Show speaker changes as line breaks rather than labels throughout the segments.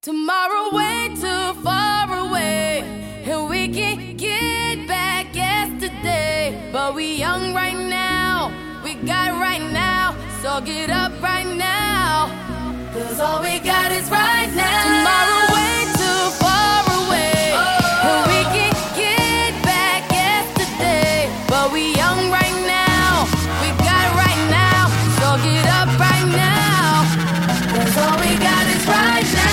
Tomorrow way too far away, and we can get back yesterday. But we young right now, we got right now, so get up right now, 'cause all we got is right now. Tomorrow way too far away, and we can get back yesterday. But we young right now, we got right now, so get up right now, 'cause all we got is right now.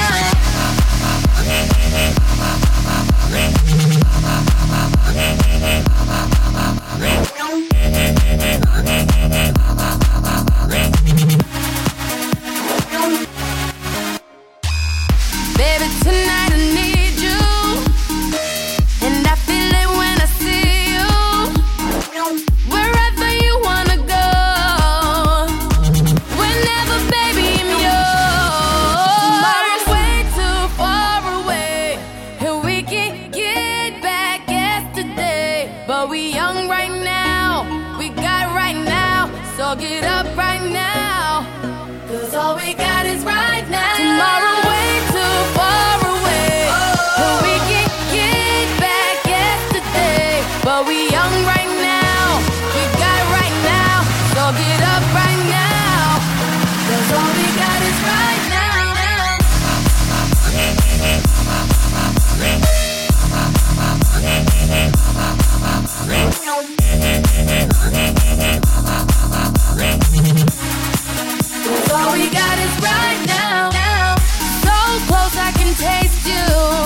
Baby, tonight I need you, and I feel it when I see you. Wherever you wanna go, whenever, baby, I'm yours. Tomorrow's way too far away, and we can get back yesterday. But we young right now, we got right now, so get up right now, 'cause all we got is right now. Tomorrow way too far away, and we can get back yesterday. But we young right now, we got right now, so get up right now, 'cause all we got is right now. All we got is right now. So close I can taste you.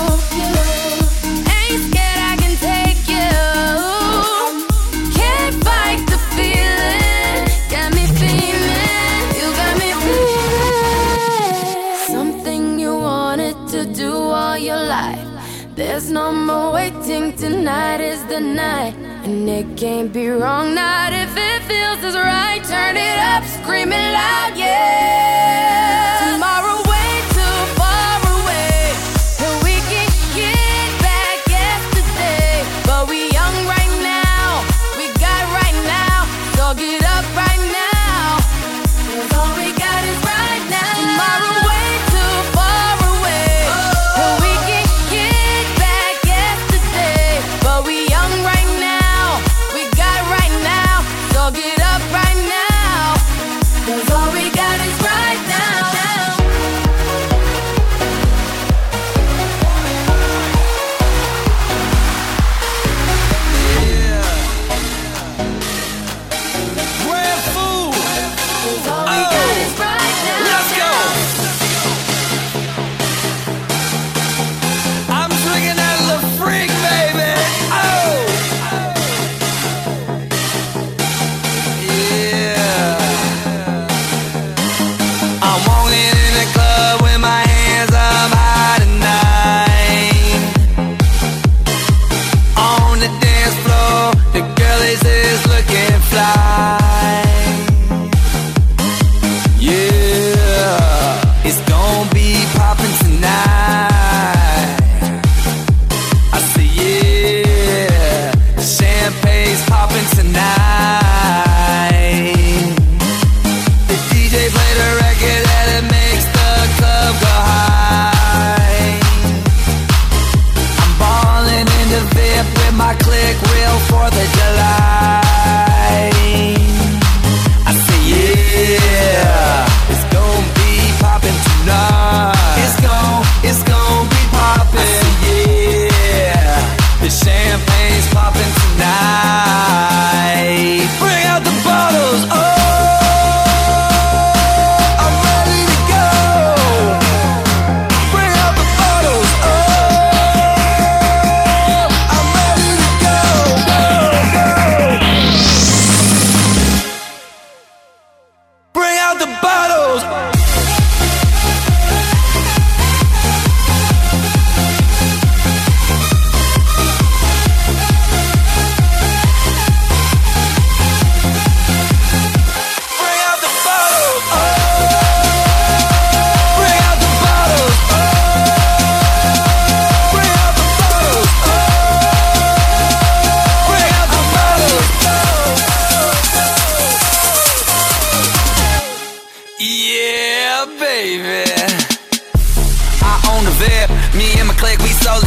Ain't scared I can take you. Can't fight the feeling. Got me feeling. You got me feeling. Something you wanted to do all your life. There's no more waiting. Tonight is the night. And it can't be wrong, not if it feels as right. Turn it up, scream it loud, yeah. Tomorrow way too far away, and we can get back yesterday. But we young right now, we got right now, so get up right now, 'cause all we got is right now. Tomorrow way too far away, and we can get back yesterday. But we young right now, we got right now, so get up right now, 'cause all we got is right now.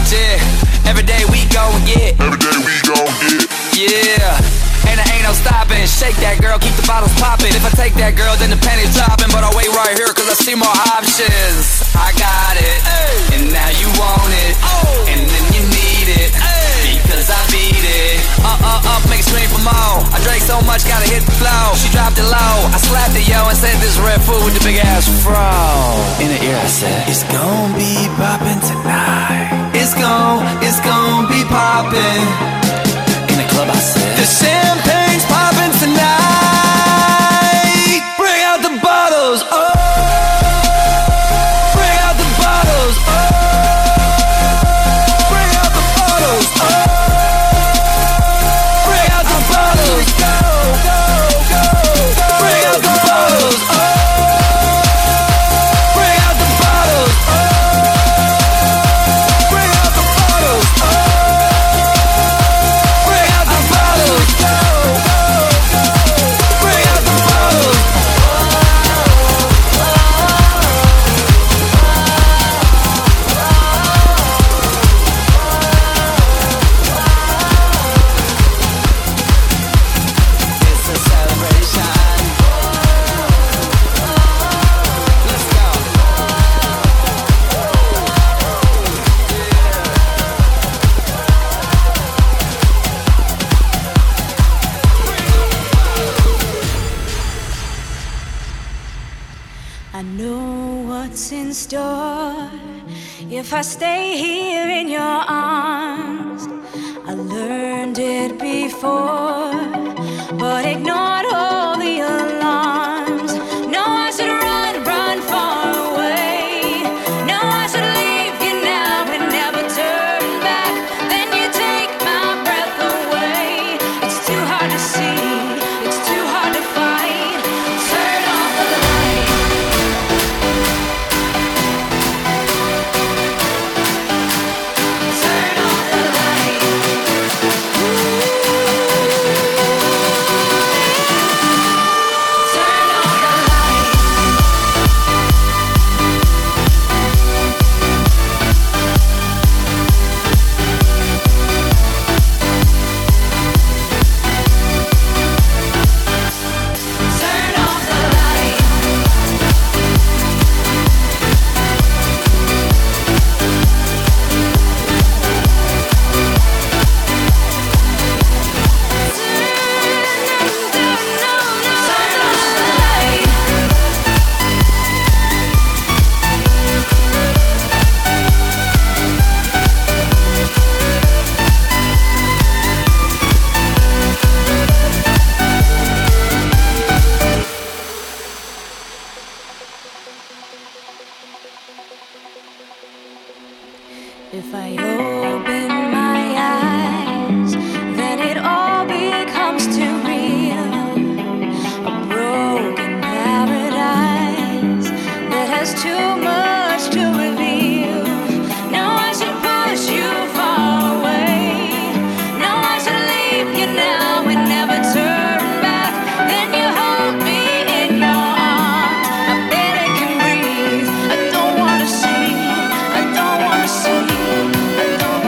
Yeah, every day we gon' get. Yeah. Ain't no stopping. Shake that girl, keep the bottles popping. If I take that girl, then the penny's dropping. But I'll wait right here, cause I see more options. I got it, and now you want it, and then you need it, because I beat it. Make it scream for more. I drank so much, gotta hit the flow. She dropped it low, I slapped it, yo, and said this red food with the big ass fro. In the ear I said, it's gon' be poppin' tonight. It's gon' be poppin'. In the club I said, the champagne's poppin' tonight. Bring out the bottles, oh. Bring out the bottles, oh. Bring out the bottles, oh. Bring out the bottles, go, go, go, go. Bring out the bottles, oh. Bring out the bottles, oh. Bring out the bottles, oh. Bring out the bottles, go, go, go. Bring out the bottles. It's a celebration. Let's go.
I know what's in store if I stay here in your arms. I learned it before, but ignored all the alarms. No, I should run, run far away. No, I should leave you now and never turn back. Then you take my breath away. It's too hard to see, it's too hard to fight. Turn off the light. Turn off the light. Turn off the light. Turn off the light. Turn off the light. If I open my eyes, then it all becomes too real. A broken paradise that has too much to reveal. No, I should push you far away. No, I should leave you now and never turn back. Then you hold me in your arms. I barely can breathe. I don't wanna see. I don't wanna see. I don't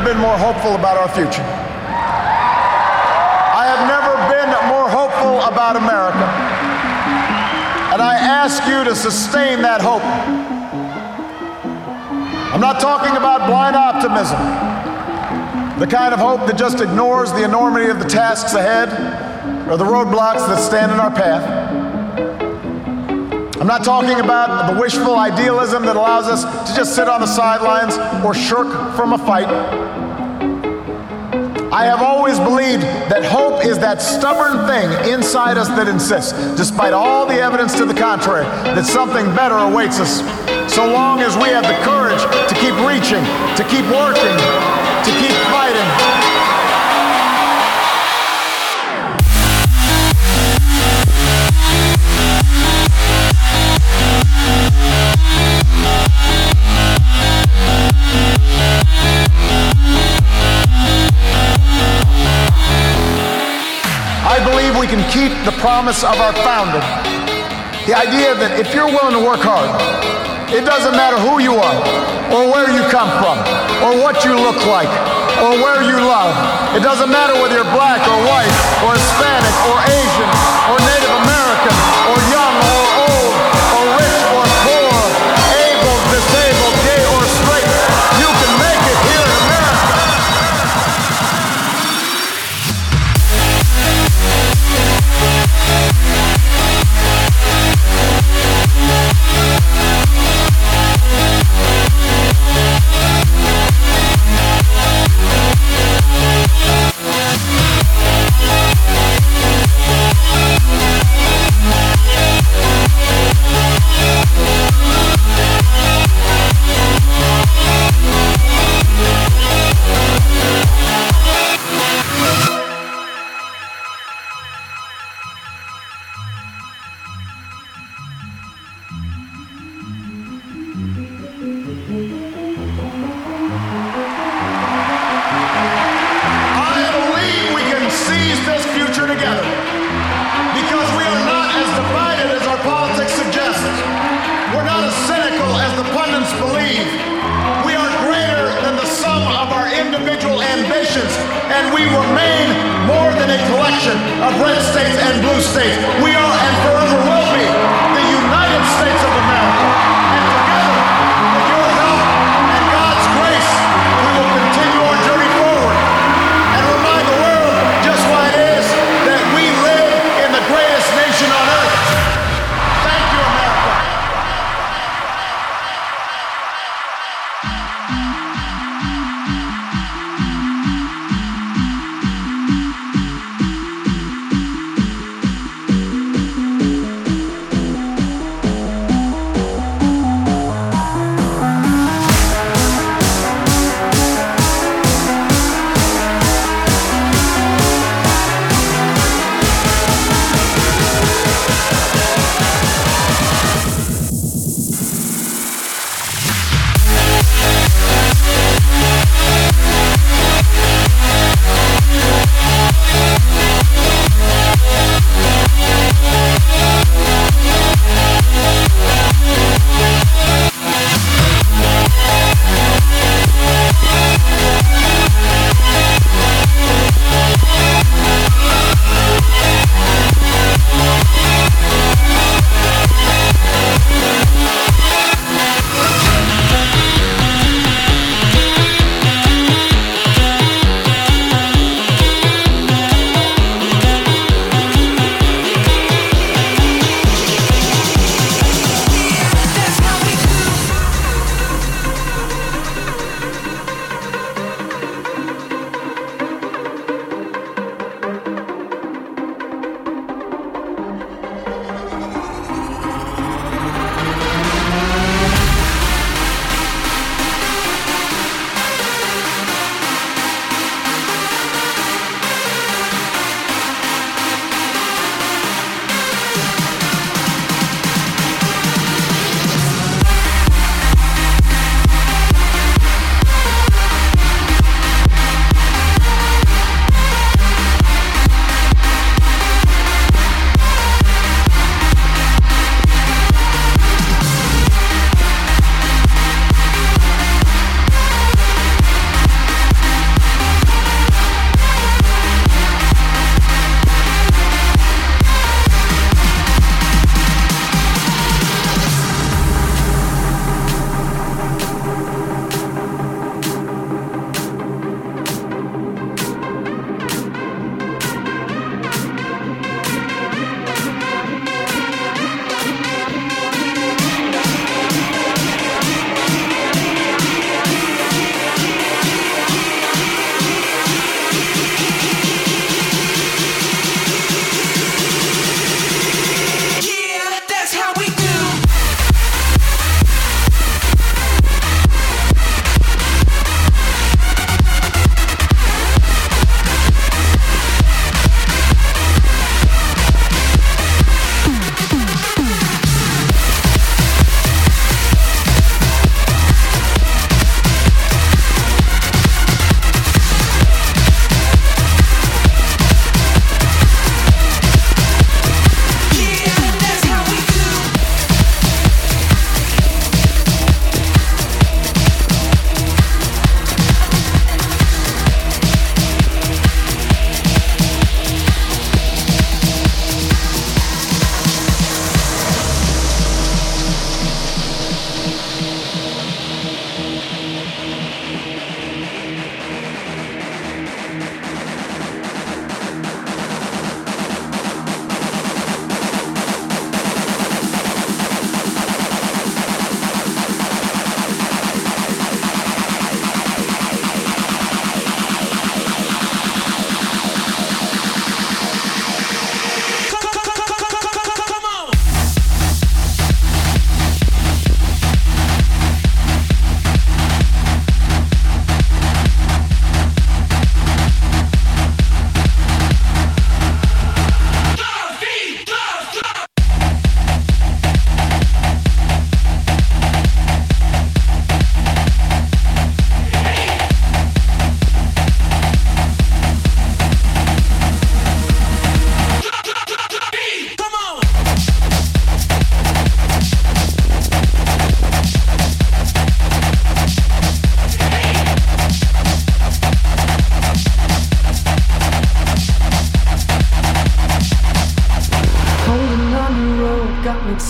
been more hopeful about our future. I have never been more hopeful about America. And I ask you to sustain that hope. I'm not talking about blind optimism, the kind of hope that just ignores the enormity of the tasks ahead or the roadblocks that stand in our path. I'm not talking about the wishful idealism that allows us to just sit on the sidelines or shirk from a fight. I have always believed that hope is that stubborn thing inside us that insists, despite all the evidence to the contrary, that something better awaits us, so long as we have the courage to keep reaching, to keep working, to keep fighting. I believe we can keep the promise of our founding. The idea that if you're willing to work hard, it doesn't matter who you are, or where you come from, or what you look like, or where you love. It doesn't matter whether you're black or white, or Hispanic, or Asian, or Native American, or young or old, or rich or poor, able, disabled, gay or straight. You can make it here in America. And we remain more than a collection of red states and blue states. We are and forever will be the United States of America. And together, with your help and God's grace, we will continue our journey forward and remind the world just why it is that we live in the greatest nation on earth. Thank you, America.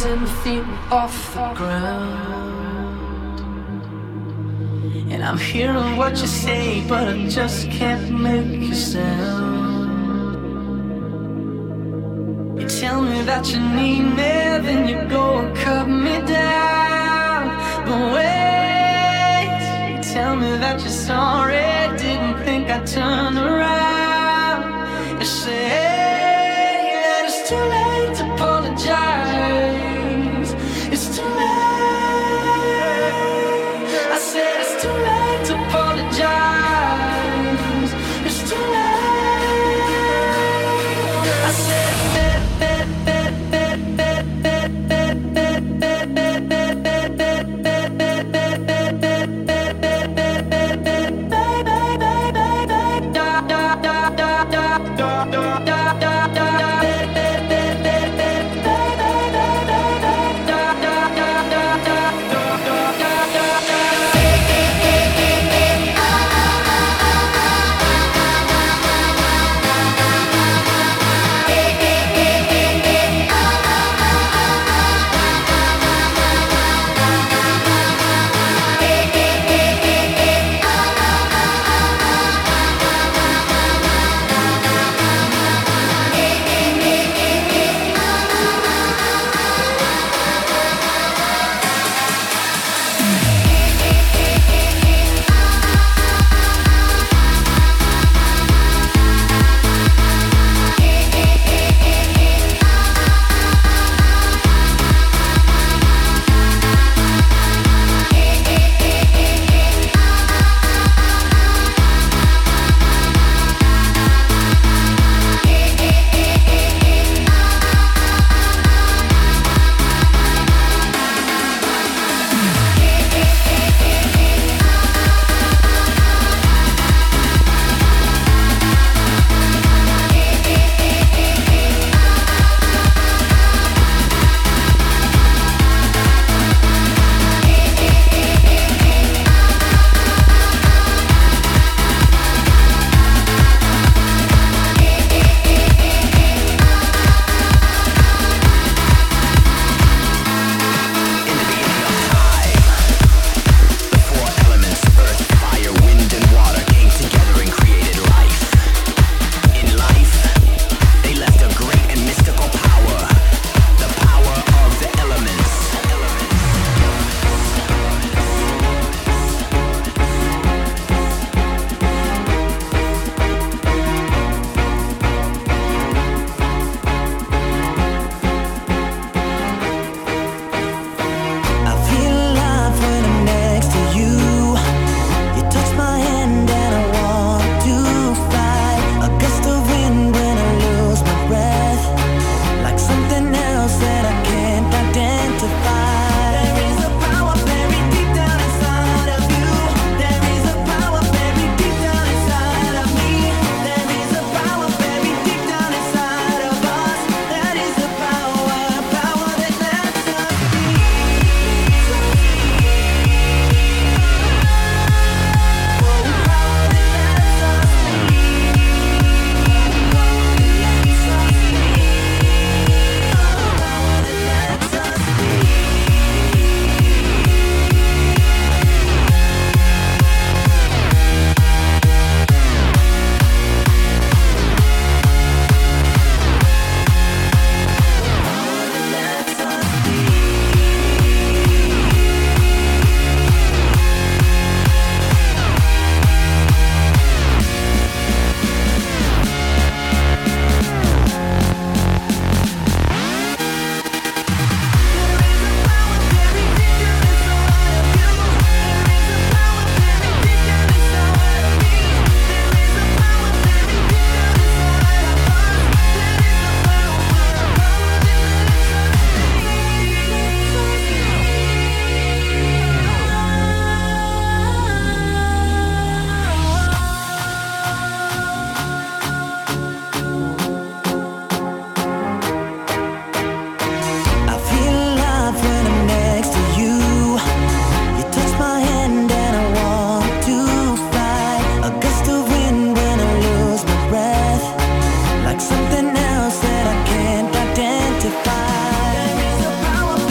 10 feet off the ground. And I'm hearing what you say, but I just can't make a sound. You tell me that you need me, then you go and cut me down. But wait, you tell me that you're sorry, didn't think I'd turn around. You say that it's too late to apologize. It's too late. I said it's too late to apologize. It's too late. I said
identify. There is a power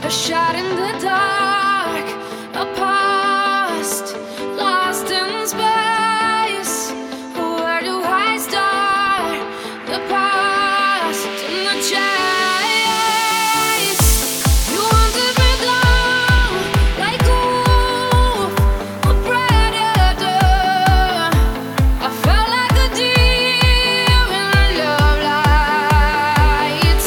shot in the dark, a past lost in space. Where do I start? The past and the chase. You wanted me down like a wolf, a predator. I felt like a deer in the love lights.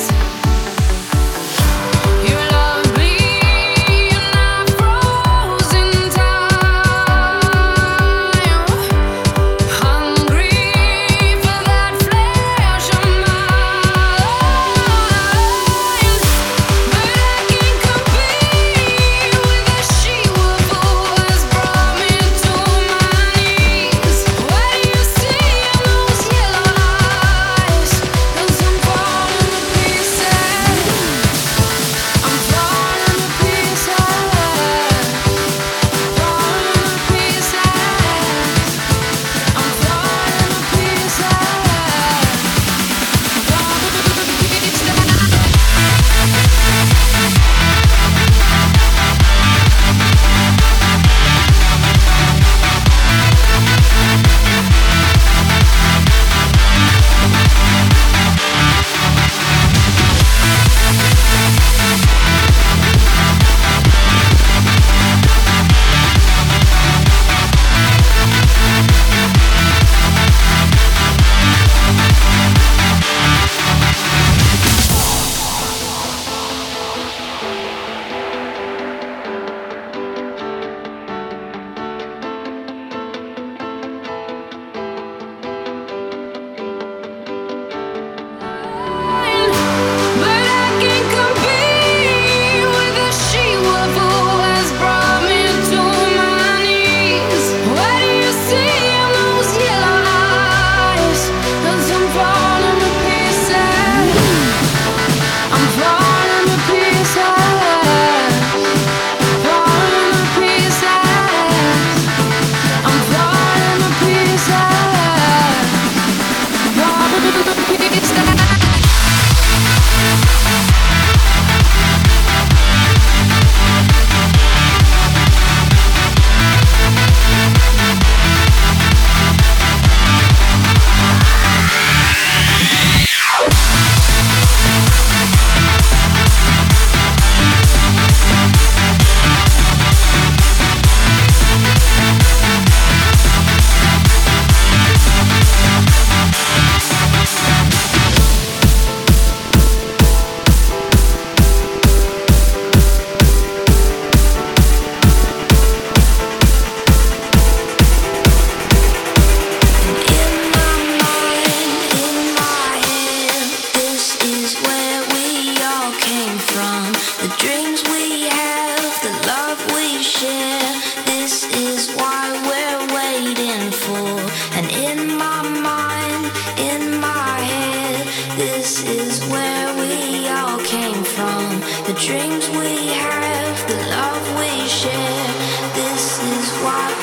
You love me and I froze in time, hungry for that flesh of mine. But I can't compete with the she-wolf who has brought me to my knees. What do you see in those yellow eyes? 'Cause I'm falling to pieces. I'm falling to pieces. Falling to pieces. I'm falling to pieces. But I can't compete with the she-wolf who has brought me to my knees. What do you see in those yellow eyes? 'Cause I'm falling to pieces. I'm falling to pieces. Falling to pieces. I'm falling to pieces. Falling to pieces. The dreams we have, the love we share, this is why